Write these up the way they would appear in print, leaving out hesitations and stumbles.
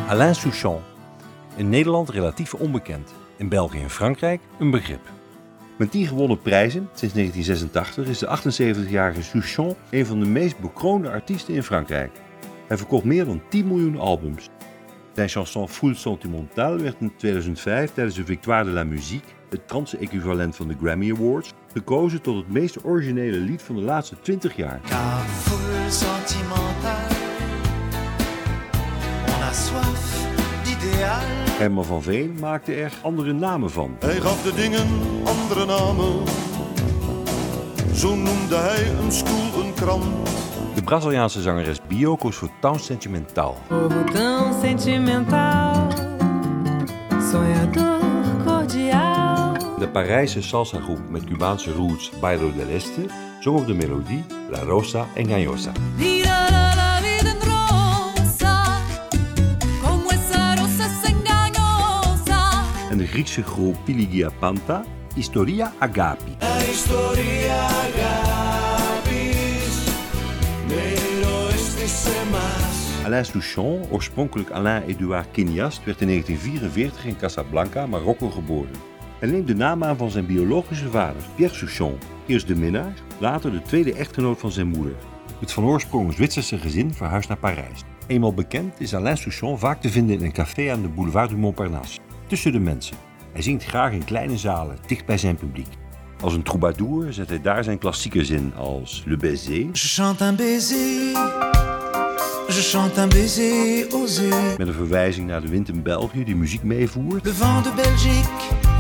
Alain Souchon. In Nederland relatief onbekend. In België en Frankrijk een begrip. Met 10 gewonnen prijzen sinds 1986 is de 78-jarige Souchon een van de meest bekroonde artiesten in Frankrijk. Hij verkocht meer dan 10 miljoen albums. Zijn chanson Foule Sentimentale werd in 2005 tijdens de Victoire de la Musique, het Franse equivalent van de Grammy Awards, gekozen tot het meest originele lied van de laatste 20 jaar. Car foule sentimentale, on a soif d'idéal. Herman van Veen maakte er andere namen van. Hij gaf de dingen andere namen. Zo noemde hij een stoel, een krant. De Braziliaanse zangeres Bio koos voor Tão Sentimental. Povo tão sentimental, sonhador cordial. De Parijse salsa-groep met Cubaanse roots Bairro del Este zong op de melodie La Rosa Engañosa. Vida la vida en rosa, como esa rosa engañosa. En de Griekse groep Piligia Panta Historia Agapi. Historia agapis, pero este más. Alain Souchon, oorspronkelijk Alain-Édouard Quiniast, werd in 1944 in Casablanca, Marokko geboren. Hij neemt de naam aan van zijn biologische vader, Pierre Souchon, eerst de minnaar, later de tweede echtgenoot van zijn moeder. Het van oorsprong Zwitserse gezin verhuist naar Parijs. Eenmaal bekend is Alain Souchon vaak te vinden in een café aan de boulevard du Montparnasse, tussen de mensen. Hij zingt graag in kleine zalen, dicht bij zijn publiek. Als een troubadour zet hij daar zijn klassiekers in als Le Baiser, Je chante un baiser, je chante un baiser osé. met een verwijzing naar de wind in België die muziek meevoert, Le vent de Belgique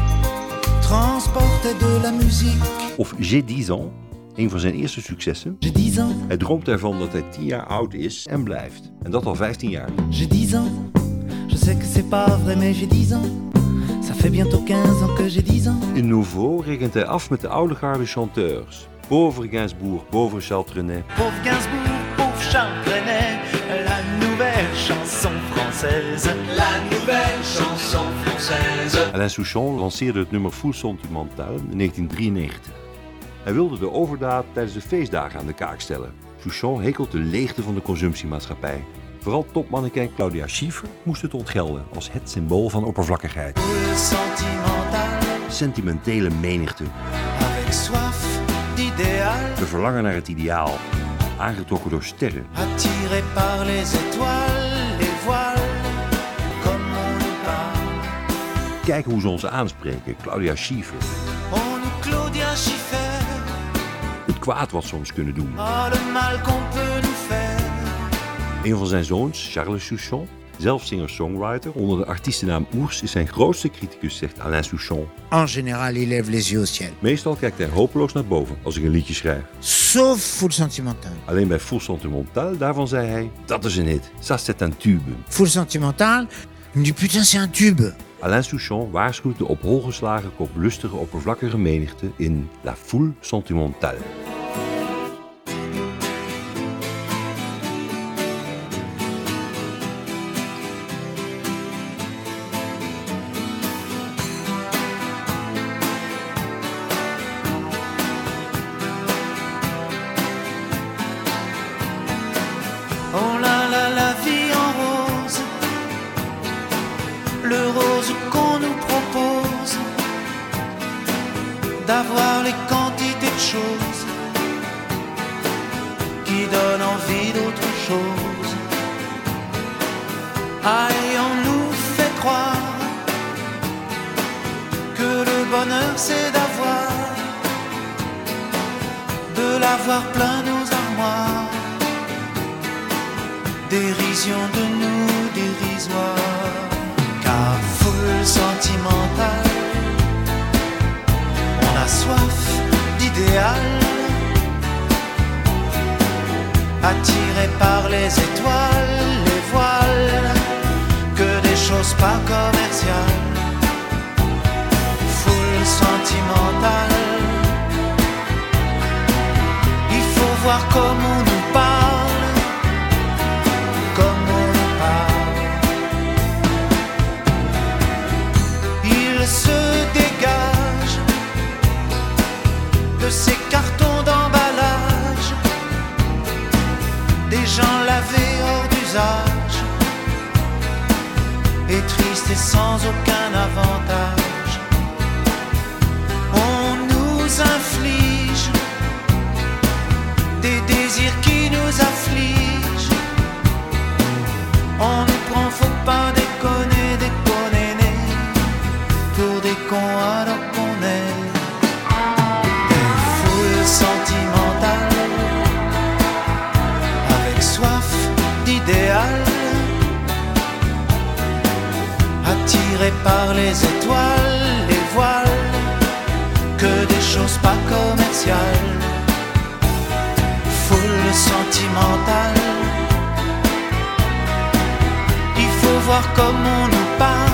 transporte de la musique. of J'ai 10 ans, een van zijn eerste successen. J'ai 10 ans, Hij droomt ervan dat hij 10 jaar oud is en blijft. En dat al 15 jaar. j'ai 10 ans. Je sais que c'est pas vrai, mais j'ai 10 ans. Ça fait bientôt 15 ans que j'ai 10 ans. In Nouveau rekent hij af met de oude garde chanteurs. Pauvre Gainsbourg, pauvre Charles Trenet. Pauvre Gainsbourg, pauvre Charles Trenet, la nouvelle chanson française. La nouvelle chanson française. Alain Souchon lanceerde het nummer Foule Sentimentale in 1993. Hij wilde de overdaad tijdens de feestdagen aan de kaak stellen. Souchon hekelt de leegte van de consumptiemaatschappij. Vooral topmannequin Claudia Schiffer moest het ontgelden als het symbool van oppervlakkigheid. Foule sentimentale, Sentimentele menigte. avec soif d'idéal. We verlangen naar het ideaal. Aangetrokken door sterren. Attiré par les étoiles, les voiles, comme on nous parle. Kijk hoe ze ons aanspreken, Claudia Schiffer. On nous Claudia Schiffer, Het kwaad wat ze ons kunnen doen. oh le mal qu'on peut nous faire. Een van zijn zoons, Charles Souchon, zelf singer-songwriter, onder de artiestennaam Ours, is zijn grootste criticus, zegt Alain Souchon. En général, il lève les yeux au ciel. Meestal kijkt hij hopeloos naar boven als ik een liedje schrijf. Sauf Foule Sentimentale. Alleen bij Foule Sentimentale, daarvan zei hij, dat is een hit, ça c'est un tube. Foule Sentimentale, il me dit putain, c'est un tube. Alain Souchon waarschuwt de op hol geslagen kop lustige oppervlakkige menigte in La Foule Sentimentale. Oh la vie en rose, le rose qu'on nous propose, d'avoir les quantités de choses qui donnent envie d'autre chose. Aïe, on nous fait croire que le bonheur c'est de l'avoir plein nos armoires. Dérision de nous dérisoire, car foule sentimentale, on a soif d'idéal, attiré par les étoiles, les voiles, que des choses pas commerciales. Foule sentimentale, il faut voir comme on nous parle. Se dégage de ces cartons d'emballage, des gens lavés hors d'usage, et triste et sans aucun avantage. On nous inflige des désirs qui nous affligent. On nous prend, faut pas déconner, déconner, pour des cons alors qu'on est des foules sentimentales, avec soif d'idéal, attirés par les étoiles, les voiles, que des choses pas commerciales. Foule sentimentale, il faut voir comme on nous parle.